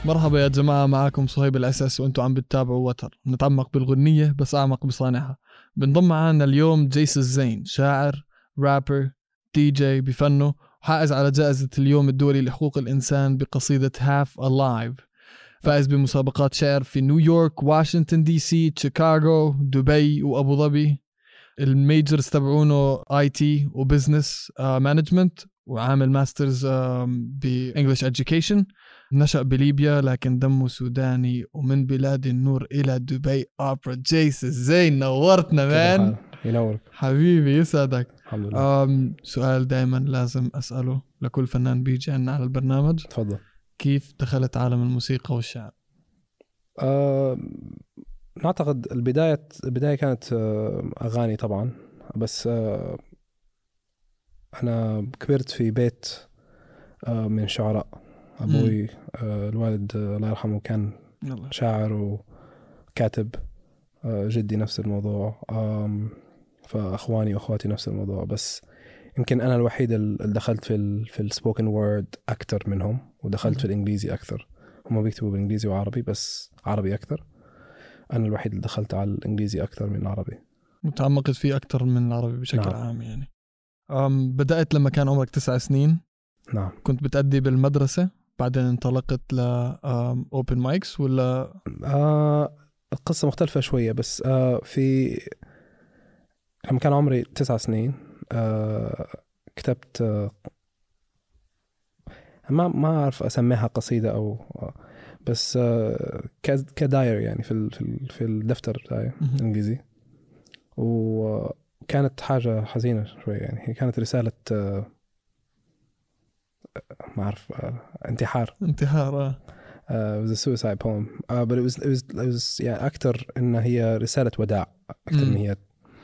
مرحبا يا جماعة، معاكم صهيب الأساس وأنتوا عم بتتابعوا وتر، نتعمق بالغنية بس أعمق بصانعها. بنضم معانا اليوم جيس الزين، شاعر، رابر، دي جي بفنه، وحائز على جائزة اليوم الدولي لحقوق الإنسان بقصيدة Half Alive. فائز بمسابقات شعر في نيويورك، واشنطن دي سي، شيكاغو، دبي وأبو ظبي. الميجرز تبعونه IT وبزنس مانجمنت، وعامل ماسترز بإنجليش education. نشأ بليبيا لكن دمه سوداني، ومن بلاد النور إلى دبي. أوبرا جيس الزين، نورتنا مان. ينورك حبيبي، يسعدك. الحمد لله. سؤال دايما لازم أسأله لكل فنان بيجي عنا على البرنامج: تفضل. كيف دخلت عالم الموسيقى والشعر؟ نعتقد البداية كانت أغاني طبعا، بس أنا كبرت في بيت من شعراء. أبوي الوالد الله يرحمه كان شاعر وكاتب. جدي نفس الموضوع. فأخواني وأخواتي نفس الموضوع، بس يمكن أنا الوحيد اللي دخلت في السبوكن وورد أكتر منهم، ودخلت في الإنجليزي أكثر. هم بيكتبوا بالإنجليزي وعربي، بس عربي أكثر. أنا الوحيد اللي دخلت على الإنجليزي أكثر من العربي، متعمقت فيه أكتر من العربي بشكل نعم. عام يعني. بدأت لما كان عمرك 9 سنين. نعم. كنت بتأدي بالمدرسة، بعدين انطلقت ل open mics ولا؟ القصة مختلفة شوية، بس في لما كان عمري 9 سنين كتبت ما أعرف أسميها قصيدة أو بس كداير يعني في الدفتر بتاعي الإنجليزي. وكانت حاجة حزينة شوية، يعني هي كانت رسالة ما أعرف انتحار. it was a suicide poem, but it was يعني أكتر إن هي رسالة وداع أكتر من هي.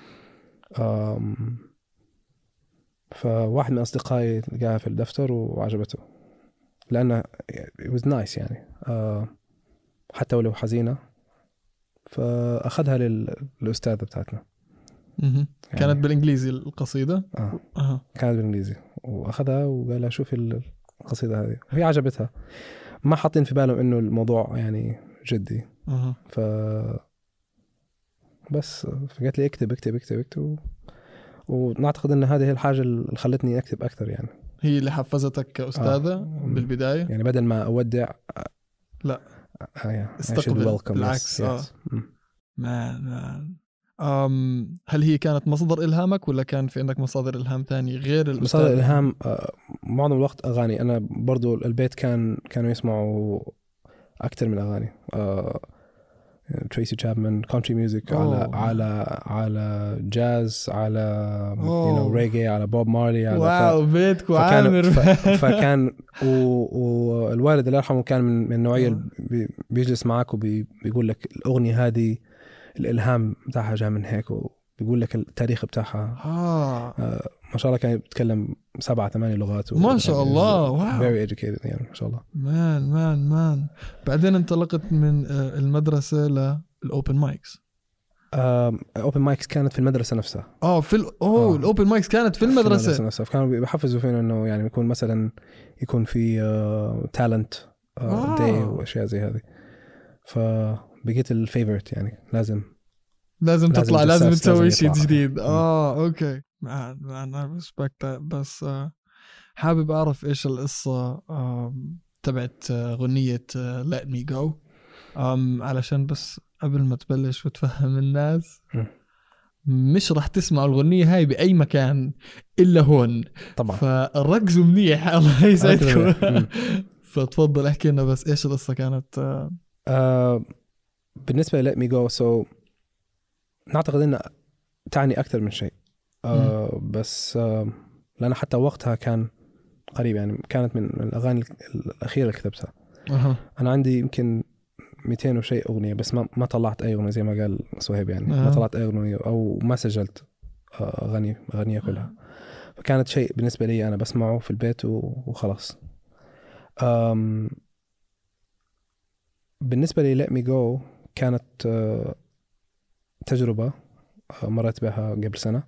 فواحد من أصدقائي لقاها في الدفتر وعجبته، لأنه it was nice يعني حتى ولو حزينة. فأخذها للأستاذة بتاعتنا. يعني كانت بالإنجليزي القصيدة. كانت بالإنجليزي، وأخذها وقال لها شوفي القصيدة هذه، وهي عجبتها. ما حاطين في بالهم إنه الموضوع يعني جدي. بس فقالت لي اكتب. ونعتقد إن هذه هي الحاجة اللي خلتني أكتب أكثر يعني. هي اللي حفزتك كأستاذة بالبداية يعني بدل ما أودع لا استقبل بالعكس. هل هي كانت مصدر إلهامك ولا كان في عندك مصادر إلهام تاني غير الأستاذ؟ مصادر إلهام معظم الوقت أغاني. أنا برضو البيت كانوا يسمعوا أكتر من أغاني. تريسي تشابمان، كونتري ميوزك، على جاز، على ريجي، على بوب مارلي، على واو بيتك وعامر. فكان والوالد الله يرحمه كان من النوعية اللي بيجلس معك وبيقول لك الأغنية هذه الإلهام بتاعها جاء من هيك، وبيقول لك التاريخ بتاعها. ما شاء الله كان يتكلم 7-8 لغات ما شاء الله. واو. very educated يعني ما شاء الله. مان بعدين انطلقت من المدرسة للأوبن مايكس. الأوبن مايكس كانت في المدرسة نفسها. الأوبن مايكس كانت في المدرسة نفسها. فكانوا بيحفزوا فينا إنه يعني يكون في talent day وأشياء زي هذه. فبقيت الفيفورت يعني لازم تطلع، لازم تسوي شيء جديد. اوكي انا ريسبكت. بس حابب اعرف ايش القصة تبعت غنية Let Me Go، علشان بس قبل ما تبلش وتفهم الناس، مش رح تسمعوا الغنية هاي بأي مكان إلا هون طبعا، فركزوا منيح. الله يسعدكم. فتفضل احكي لنا بس ايش القصة كانت. بالنسبة ل Let Me Go، نعتقد أنها تعني أكثر من شيء. بس لأن حتى وقتها كان قريب، يعني كانت من الأغاني الأخيرة اللي كتبتها. أنا عندي يمكن 200 وشيء أغنية، بس ما طلعت أي أغنية زي ما قال صهيب يعني. ما طلعت أي أغنية أو ما سجلت أغنية كلها. فكانت شيء بالنسبة لي أنا بسمعه في البيت وخلاص. بالنسبة لي Let Me Go كانت تجربة مرت بها قبل سنة.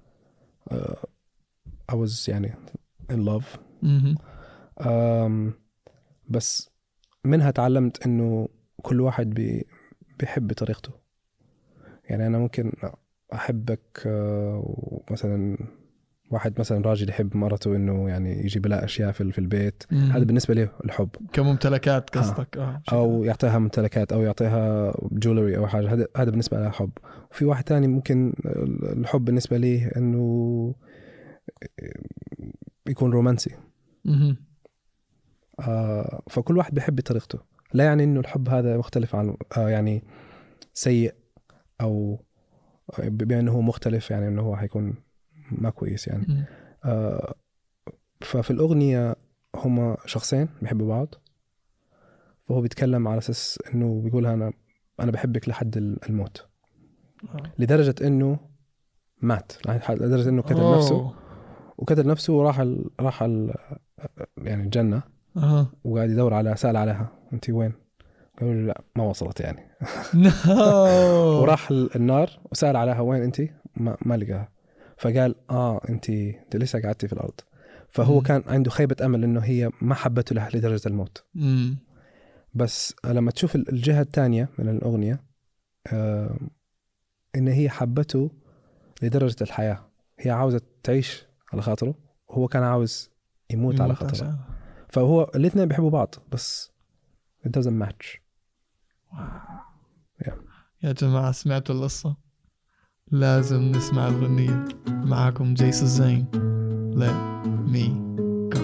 I was يعني in love. بس منها تعلمت إنه كل واحد بيحب طريقته. يعني أنا ممكن أحبك مثلا واحد مثلا راجل يحب مرته إنه يعني يجيب لها أشياء في البيت، هذا بالنسبة له الحب كممتلكات قصدك. أو يعطيها ممتلكات أو يعطيها جولري أو حاجة، هذا بالنسبة له حب. وفي واحد تاني ممكن الحب بالنسبة ليه إنه يكون رومانسي. فكل واحد بيحب بطريقته، لا يعني إنه الحب هذا مختلف عن يعني سيء أو بأنه هو مختلف، يعني إنه هو هيكون ما كويس يعني. ففي الأغنية هما شخصين بيحبوا بعض، فهو بيتكلم على أساس إنه بيقولها أنا بحبك لحد الموت، لدرجة إنه مات، لدرجة إنه قتل نفسه وقتل نفسه وراح يعني الجنة وقاعد يدور على سأل عليها أنت وين؟ قالوا له لا ما وصلت يعني. وراح النار وسأل عليها وين أنت؟ ما لقاها. فقال أنت لسه قعدتي في الأرض. فهو كان عنده خيبة أمل إنه هي ما حبته له لدرجة الموت. بس لما تشوف الجهة الثانية من الأغنية إن هي حبته لدرجة الحياة، هي عاوزة تعيش على خاطره وهو كان عاوز يموت على خاطره. فهو الاثنين بيحبوا بعض بس it doesn't match. يا جماعة سمعتوا القصة؟ لازم نسمع الغنية. معاكم جيس الزين. Let me go.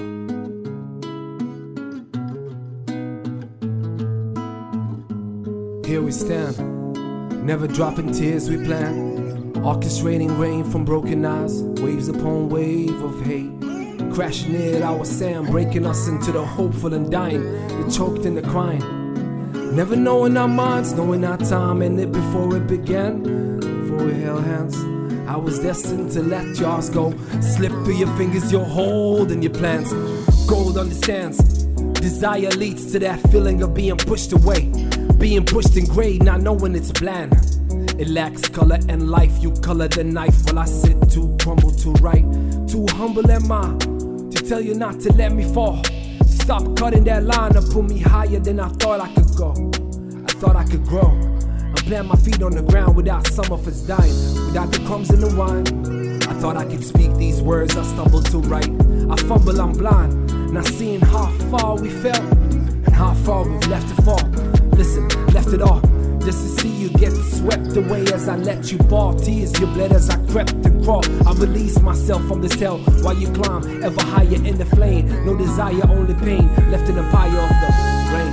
Here we stand, never dropping tears we plan, orchestrating rain from broken eyes, waves upon wave of hate, crashing in our sand, breaking us into the hopeful and dying, the choked and the crying. Never knowing our minds, knowing our time, and it before it began. Before we held hands, I was destined to let yours go. Slip through your fingers, your hold and your plans. Gold understands, desire leads to that feeling of being pushed away, being pushed in gray, not knowing it's bland. It lacks color and life, you color the knife while I sit to crumble to right. Too humble am I to tell you not to let me fall. Stop cutting that line and put me higher than I thought I could go. I thought I could grow and plant my feet on the ground without some of us dying, without the crumbs in the wine. I thought I could speak these words, I stumbled to write. I fumble, I'm blind, not seeing how far we fell and how far we've left to fall. Listen, left it all just to see you get swept away as I let you ball. Tears you bled as I crept and crawled. I released myself from this hell while you climb ever higher in the flame. No desire, only pain, left in the fire of the rain.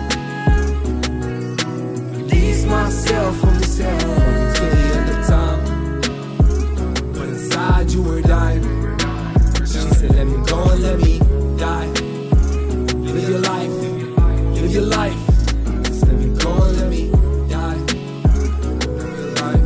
Release myself from this hell until the end of time, but inside you were dying. She said let me go and let me die. Live your life, live your life. Just let me go and let me die. Live your life.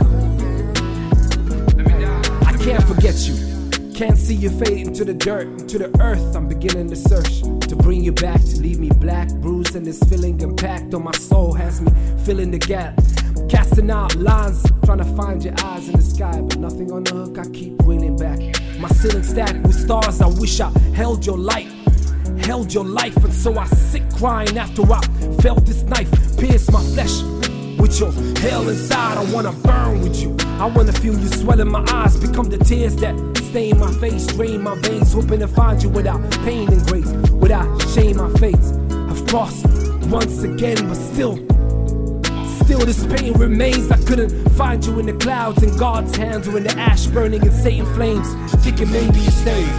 I can't forget you, can't see you fade into the dirt, into the earth. I'm beginning to search to bring you back, to leave me black, bruised, and this feeling impact on my soul has me filling the gap, casting out lines, trying to find your eyes in the sky, but nothing on the hook. I keep reeling back. My ceiling stacked with stars. I wish I held your light, held your life, and so I sit crying after I felt this knife pierce my flesh. With your hell inside, I wanna burn with you. I wanna feel you swell in my eyes, become the tears that stain my face, drain my veins, hoping to find you without pain and grace, without shame. My fates have crossed once again, but still this pain remains. I couldn't find you in the clouds, in God's hands, or in the ash burning in Satan flames, thinking maybe you stayed.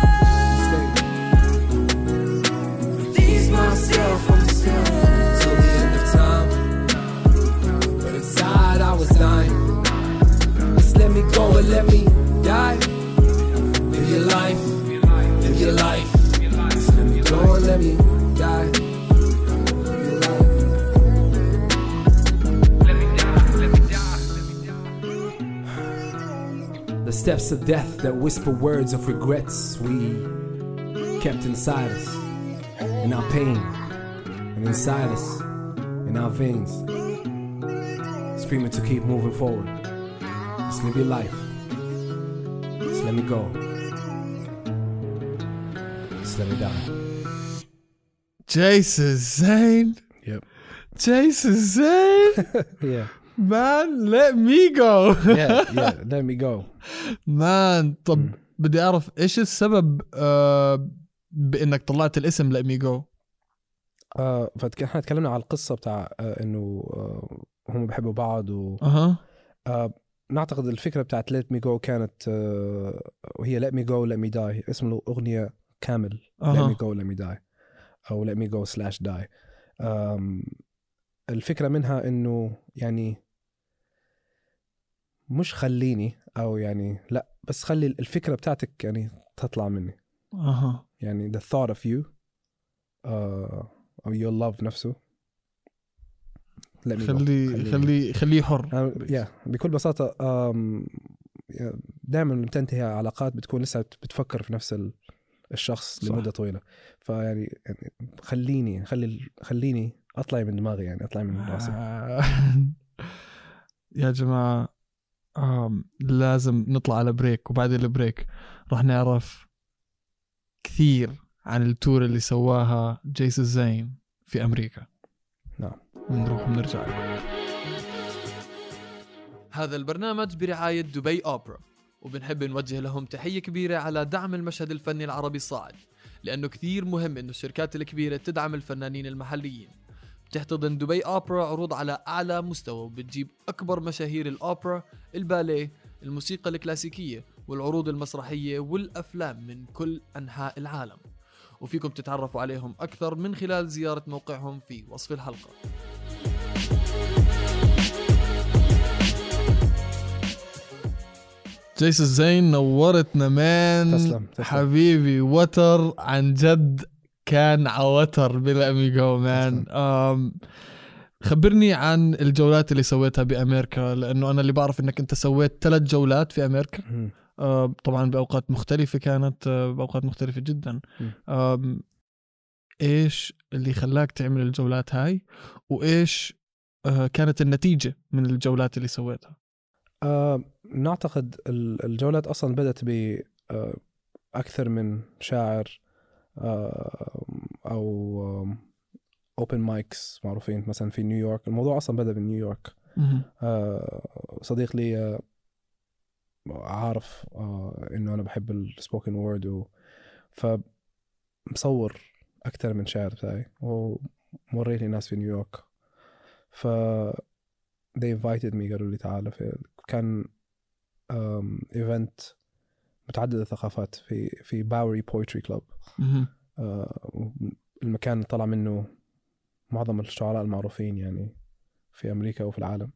Release myself from this hell till the end of time, but inside I was dying. Just let me go and let me die. Live your life, live your life. Just let me go and let me die. The steps of death that whisper words of regrets we kept inside us, in our pain, and inside us, in our veins, screaming to keep moving forward. Just live your life. Just let me go. Just let me die. جيسون زين. Yep. جيسون زين. Yeah. Man, let me go. Yeah, let me go. Man, طب بدي أعرف إيش السبب بإنك طلعت الاسم let me go. فاحنا تكلمنا على القصة بتاع إنه هم بيحبوا بعض نعتقد الفكرة بتاعت let me go كانت وهي let me go let me die. اسم الأغنية كامل let me go let me die أو let me go /die. الفكرة منها إنه يعني مش خليني أو يعني لا بس خلي الفكرة بتاعتك يعني تطلع مني. يعني the thought of you أو your love نفسه خليه حر. بكل بساطة دائما لما تنتهي علاقات بتكون لسه بتفكر في نفس الشخص صح. لمدة طويلة. فيعني خليني أطلع من دماغي يعني أطلع من راسي. يا جماعة لازم نطلع على بريك وبعد البريك راح نعرف كثير عن التور اللي سواها جيسون زين في أمريكا. نعم. نروح ونرجع. هذا البرنامج برعاية دبي أوبرا، وبنحب نوجه لهم تحية كبيرة على دعم المشهد الفني العربي الصاعد، لأنه كثير مهم إنه الشركات الكبيرة تدعم الفنانين المحليين. بتحتضن دبي أوبرا عروض على أعلى مستوى وبتجيب أكبر مشاهير الأوبرا، الباليه، الموسيقى الكلاسيكية والعروض المسرحية والأفلام من كل أنحاء العالم، وفيكم تتعرفوا عليهم أكثر من خلال زيارة موقعهم في وصف الحلقة. جيسون زين نورتنا مان. تسلم. حبيبي وتر عن جد كان عوتر بالأميغو مان. خبرني عن الجولات اللي سويتها بأمريكا، لأنه أنا اللي بعرف أنك أنت سويت 3 جولات في أمريكا. طبعا بأوقات مختلفة، كانت بأوقات مختلفة جدا. إيش اللي خلاك تعمل الجولات هاي وإيش كانت النتيجة من الجولات اللي سويتها؟ نعتقد الجولات أصلا بدأت بأكثر من شاعر أو open mics معروفين مثلا في نيويورك. الموضوع أصلا بدأ بنيويورك. صديق لي عارف إنه أنا بحب السبوكن وورد فمصور أكثر من شاعر بتاعي وموريت لي ناس في نيويورك. they invited me قالوا لي تعال. كان event متعدد الثقافات في باوري بويتري كلوب. المكان طلع منه معظم الشعراء المعروفين يعني في أمريكا وفي العالم.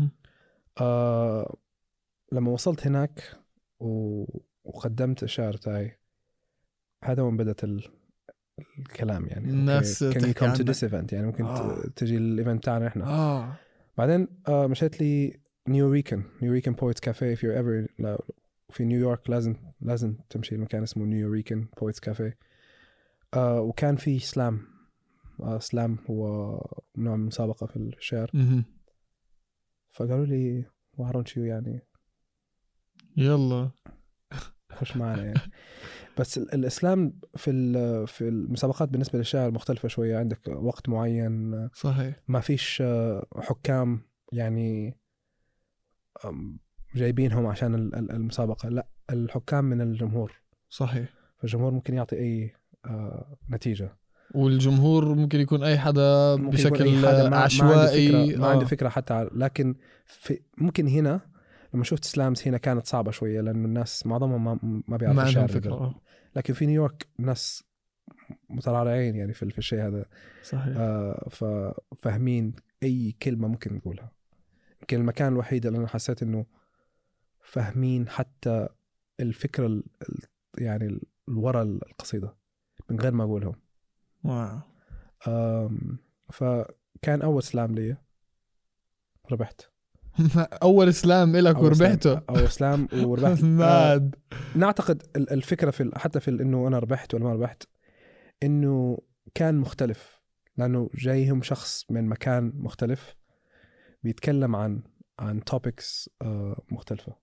لما وصلت هناك وقدمت الشعر تاعي، هذا وين بدأت الكلام يعني الناس can you come to this event يعني ممكن تجي الإيفنت تاعنا إحنا. بعدين مشيت لي نيوريكان بويتس كافيه. if you're ever في نيويورك لازم تمشي المكان اسمه نيوريكان بويتس كافيه. وكان في سلام هو نوع من مسابقة في الشعر. فقالوا لي why don't you يعني يلا خش معنا يعني. بس الإسلام في المسابقات بالنسبة للشعر مختلفة شوية. عندك وقت معين صحيح. ما فيش حكام يعني جايبينهم عشان المسابقة. لا، الحكام من الجمهور. صحيح. فالجمهور ممكن يعطي أي نتيجة، والجمهور ممكن يكون أي حدا بشكل عشوائي. ما عندي فكرة حتى. لكن ممكن هنا لما شفت سلامز هنا كانت صعبة شوية لأن الناس معظمهم ما بيعرفوا الشعر. لكن في نيويورك الناس مترعرعين يعني في الشيء هذا. صحيح. ففاهمين أي كلمة ممكن نقولها. يمكن المكان الوحيد اللي أنا حسيت إنه فاهمين حتى الفكرة يعني الورا القصيدة من غير ما أقولهم. واو. فكان أول سلام لي ربحت. أول سلام إلك وربحته. أول سلام وربحت. نعتقد الفكرة حتى في إنه أنا ربحت ولا ما ربحت، إنه كان مختلف لأنه جايهم شخص من مكان مختلف بيتكلم عن topics مختلفة.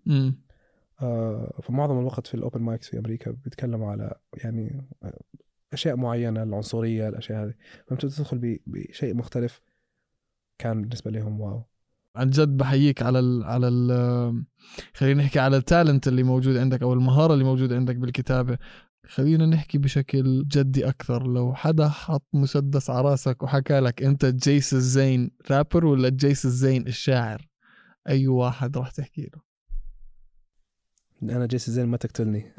فمعظم الوقت في الأوبن مايكس في أمريكا بيتكلموا على يعني أشياء معينة، العنصرية، الأشياء هذه، فأنت تدخل بشيء مختلف كان بالنسبة لهم واو. عن جد بحييك على خلينا نحكي على التالنت اللي موجود عندك أو المهارة اللي موجودة عندك بالكتابة. خلينا نحكي بشكل جدي أكثر، لو حدا حط مسدس على راسك وحكى لك أنت جيس الزين رابر ولا جيس الزين الشاعر، أي واحد راح تحكي له؟ أنا جيس الزين ما تقتلني.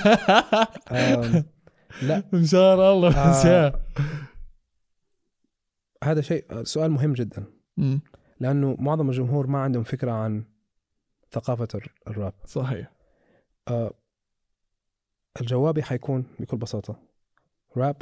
لا إن شاء الله. هذا شيء سؤال مهم جدا، لأنه معظم الجمهور ما عندهم فكرة عن ثقافة الراب. صحيح. الجوابي حيكون بكل بساطة راب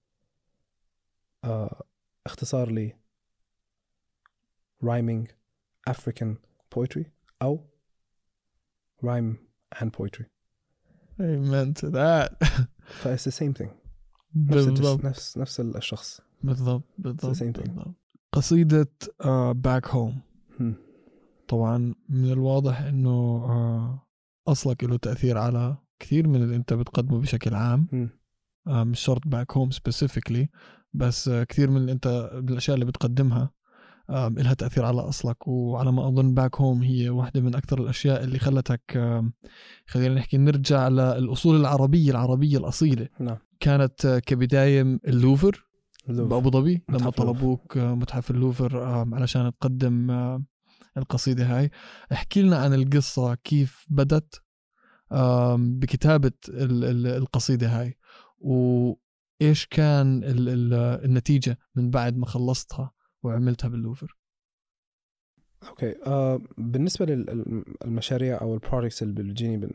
اختصار لي rhyming African poetry أو rhyme and poetry. Amen to that. فit's the same thing. نفس الشخص. بالضبط. قصيدة back home طبعا من الواضح انه اصلك له تأثير على كثير من اللي انت بتقدمه بشكل عام. مش شرط back home specifically، بس كثير من اللي انت بالاشياء اللي بتقدمها لها تأثير على أصلك. وعلى ما أظن باك هوم هي واحدة من أكثر الأشياء اللي خلتك خلينا نحكي نرجع للأصول العربية الأصيلة. نعم. كانت كبداية اللوفر بأبو ظبي لما طلبوك متحف اللوفر علشان تقدم القصيدة هاي. احكي لنا عن القصة، كيف بدت بكتابة القصيدة هاي، وإيش كان النتيجة من بعد ما خلصتها وعملتها باللوفر. اوكي. بالنسبه للمشاريع او البروجكتس اللي بتجيني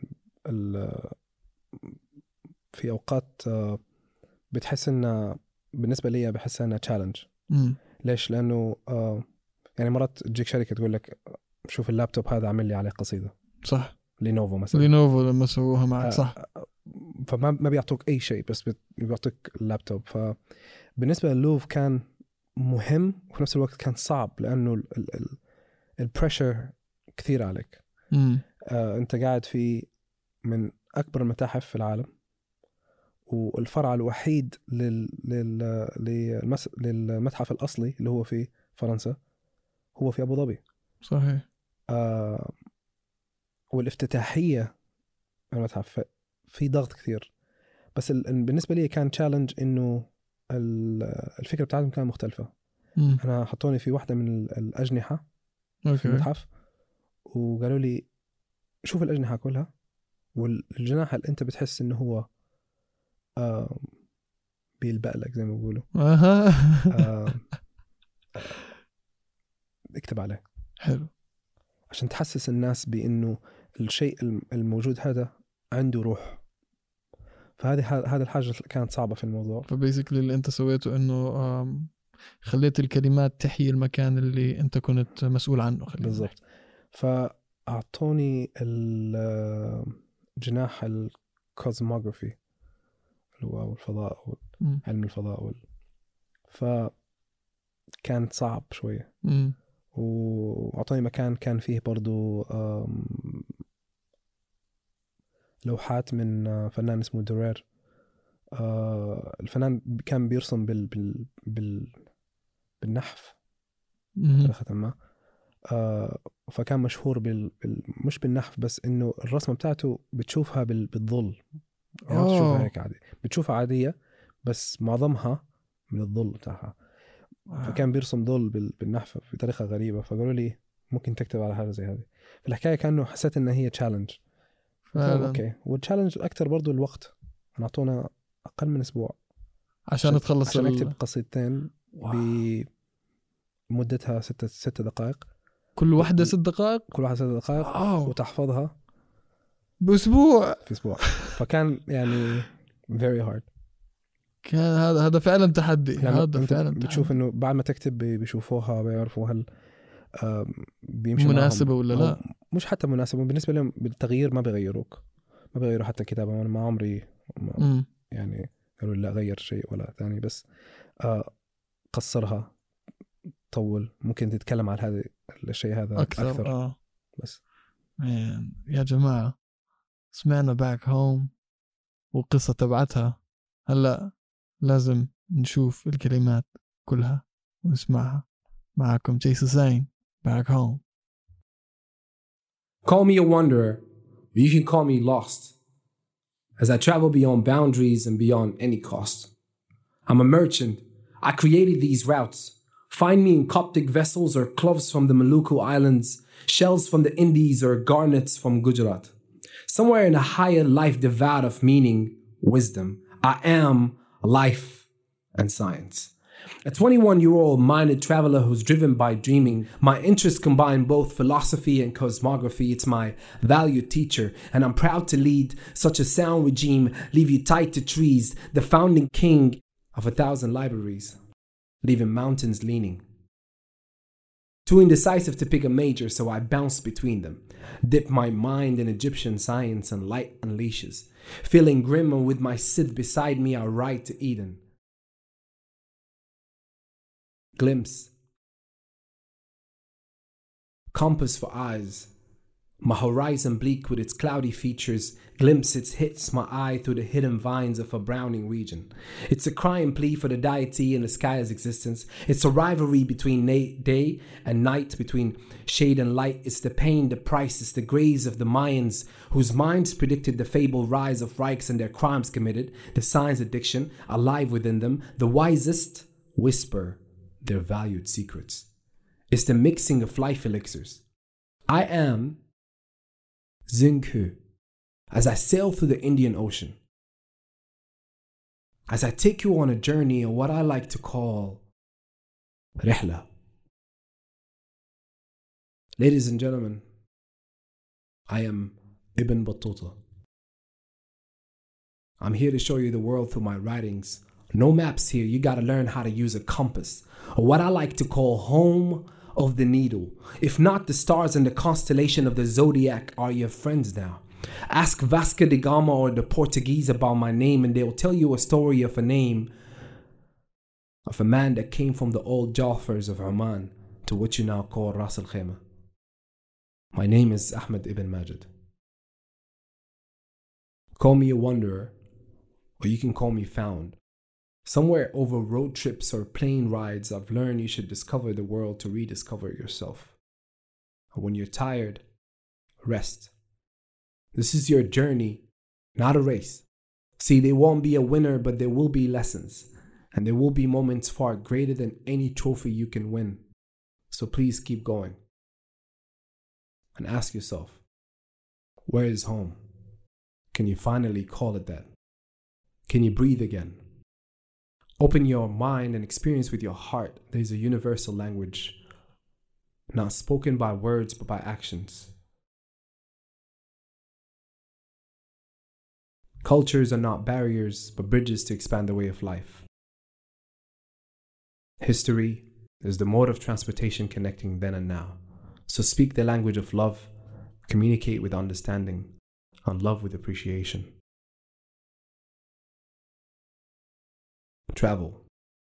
في اوقات بتحس ان بالنسبه لي بحس انها تشالنج. ليش؟ لانه يعني مرات تجيك شركه تقول لك شوف اللابتوب هذا عمل لي عليه قصيده. صح. لينوفو مثلا. لينوفو لما سووها معك. صح. فما بيعطوك اي شيء، بس بيعطوك اللابتوب. فبالنسبه للوف كان مهم وفي نفس الوقت كان صعب، لأنه البريشر كثير عليك. أنت قاعد في من أكبر المتاحف في العالم، والفرع الوحيد للمتحف الأصلي اللي هو في فرنسا هو في أبو ظبي. صحيح. والافتتاحية المتحف في ضغط كثير، بس بالنسبة لي كان تشالنج إنه الفكرة بتاعتهم كانت مختلفة. أنا حطوني في واحدة من الأجنحة في المتحف، وقالوا لي شوف الأجنحة كلها، والجناح اللي أنت بتحس إنه هو بيلبق لك زي ما بيقولوا اكتب عليه. حلو. عشان تحسس الناس بإنه الشيء الموجود هذا عنده روح. فهذه الحاجة كانت صعبة في الموضوع. فبيسكلي اللي انت سويته انه خليت الكلمات تحيي المكان اللي انت كنت مسؤول عنه. بالضبط. فأعطوني الجناح الكوزموغرافي اللي هو الفضاء علم الفضاء فكانت صعب شوية. وأعطوني مكان كان فيه برضو لوحات من فنان اسمه دورير. الفنان كان بيرسم بالنحف بطريقة ما. فكان مشهور مش بالنحف بس، إنه الرسمة بتاعته بتشوفها بالظل. يعني بتشوفها هيك عادي، بتشوفها عادية بس معظمها من الظل بتاعها. فكان بيرسم ظل بالنحف بطريقة غريبة. فقالوا لي ممكن تكتب على حاجة زي هذه. في الحكاية كأنه حسيت إن هي تشالنج. اوكي. والتشالنج الاكثر برضو الوقت. نعطونا اقل من اسبوع عشان تخلص عشان اكتب قصيدتين بمدتها 6 دقائق. كل واحدة 6 دقائق. كل واحدة 6 دقائق. وتحفظها باسبوع. في اسبوع. فكان يعني very hard. كان هذا فعلا تحدي. هذا فعلا بتشوف انه بعد ما تكتب بيشوفوها بيعرفوا هل بيمشي مناسبة ولا لا. مش حتى مناسبة بالنسبة لهم. بالتغيير ما بيغيروا حتى الكتابة. أنا ما عمري يعني قالوا لا غير شيء ولا ثاني، بس قصرها، طول، ممكن تتكلم عن هذا الشيء هذا أكثر. بس يا جماعة سمعنا باك هوم والقصة تبعتها. هلا لازم نشوف الكلمات كلها ونسمعها. معكم جيسون زين back home. Call me a wanderer, or you can call me lost, as I travel beyond boundaries and beyond any cost. I'm a merchant. I created these routes. Find me in Coptic vessels or cloves from the Maluku Islands, shells from the Indies or garnets from Gujarat. Somewhere in a higher life devoid of meaning, wisdom, I am life and science. A 21-year-old minded traveler who's driven by dreaming. My interests combine both philosophy and cosmography. It's my valued teacher, and I'm proud to lead such a sound regime, leave you tied to trees, the founding king of 1,000 libraries, leaving mountains leaning. Too indecisive to pick a major, so I bounce between them. Dip my mind in Egyptian science and light unleashes. Feeling grim and with my Sith beside me, I ride to Eden. Glimpse. Compass for eyes. My horizon bleak with its cloudy features. Glimpse it hits my eye through the hidden vines of a browning region. It's a crying plea for the deity in the sky's existence. It's a rivalry between day and night, between shade and light. It's the pain, the price, it's the graves of the Mayans, whose minds predicted the fabled rise of Reichs and their crimes committed, the science addiction alive within them. The wisest whisper their valued secrets. It's the mixing of life elixirs. I am Xinghu as I sail through the Indian Ocean. As I take you on a journey of what I like to call Rihla. Ladies and gentlemen, I am Ibn Battuta. I'm here to show you the world through my writings. No maps here, you gotta learn how to use a compass, or what I like to call home of the needle. If not, the stars and the constellation of the zodiac are your friends now. Ask Vasco da Gama or the Portuguese about my name and they'll tell you a story of a name of a man that came from the old Jafars of Oman to what you now call Ras Al Khaimah. My name is Ahmed Ibn Majid. Call me a wanderer, or you can call me found. Somewhere over road trips or plane rides, I've learned you should discover the world to rediscover yourself. And when you're tired, rest. This is your journey, not a race. See, there won't be a winner, but there will be lessons. And there will be moments far greater than any trophy you can win. So please keep going. And ask yourself, where is home? Can you finally call it that? Can you breathe again? Open your mind and experience with your heart. There's a universal language, not spoken by words, but by actions. Cultures are not barriers, but bridges to expand the way of life. History is the mode of transportation connecting then and now. So speak the language of love, communicate with understanding, and love with appreciation. Travel.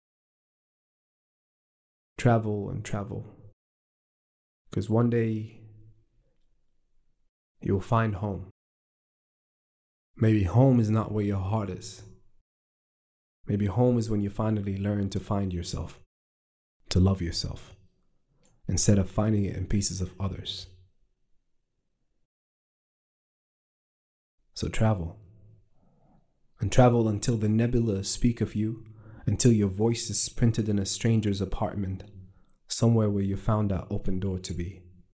Travel and travel. Because one day you'll find home. Maybe home is not where your heart is. Maybe home is when you finally learn to find yourself, to love yourself, instead of finding it in pieces of others. So travel. And travel until the nebula speak of you, until your voice is printed in a stranger's apartment, somewhere where you found that open door to be.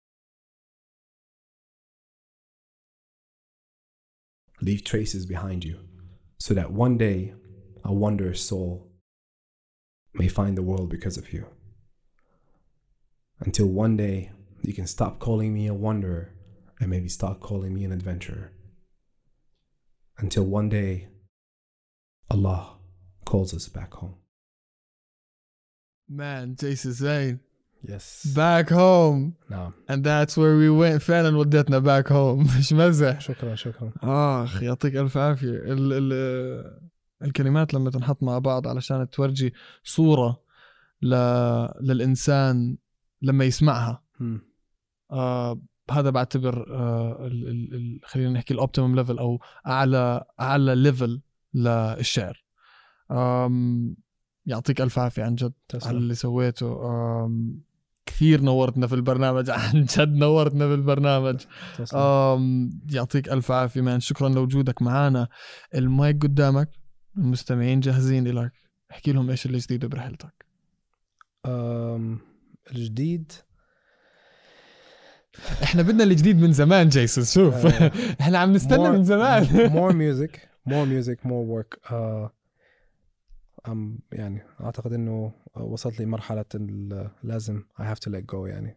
Leave traces behind you, so that one day a wanderer's soul may find the world because of you. Until one day you can stop calling me a wanderer and maybe start calling me an adventurer. Until one day Allah calls us back home. Man, Jason Zain. Yes. Back home. نعم. And that's where we went. فعلا ودتنا back home. مش مزح. شكرا. يعطيك ألف عافية. الكلمات لما تنحط مع بعض علشان تورجي صورة للإنسان لما يسمعها. هذا بعتبر خلينا نحكي الأوبتيمم ليفل أو أعلى ليفل للشعر. يعطيك ألف عافية عن جد تسلم. على اللي سويته. كثير نورتنا في البرنامج عن جد نورتنا في البرنامج. يعطيك ألف عافية مان. شكرا لوجودك معنا. المايك قدامك، المستمعين جاهزين لك، احكي لهم ايش اللي جديد برحلتك. الجديد احنا بدنا الجديد من زمان جيسون. شوف احنا عم نستنى من زمان. more music more work. يعني اعتقد انه وصلت لي مرحلة لازم I have to let go يعني.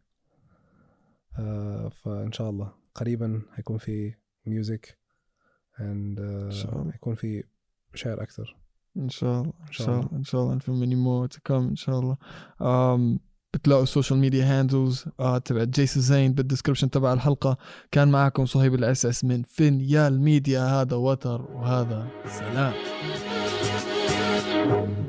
فان شاء الله قريبا هيكون في music and هيكون في شعر اكثر ان شاء الله. ان شاء الله في many more to come ان شاء الله. بتلاقوا السوشيال ميديا هاندلز تبع جيسون زين بالديسكربشن تبع الحلقة. كان معكم صهيب الأساس من فينيال ميديا. هذا وتر وهذا سلام.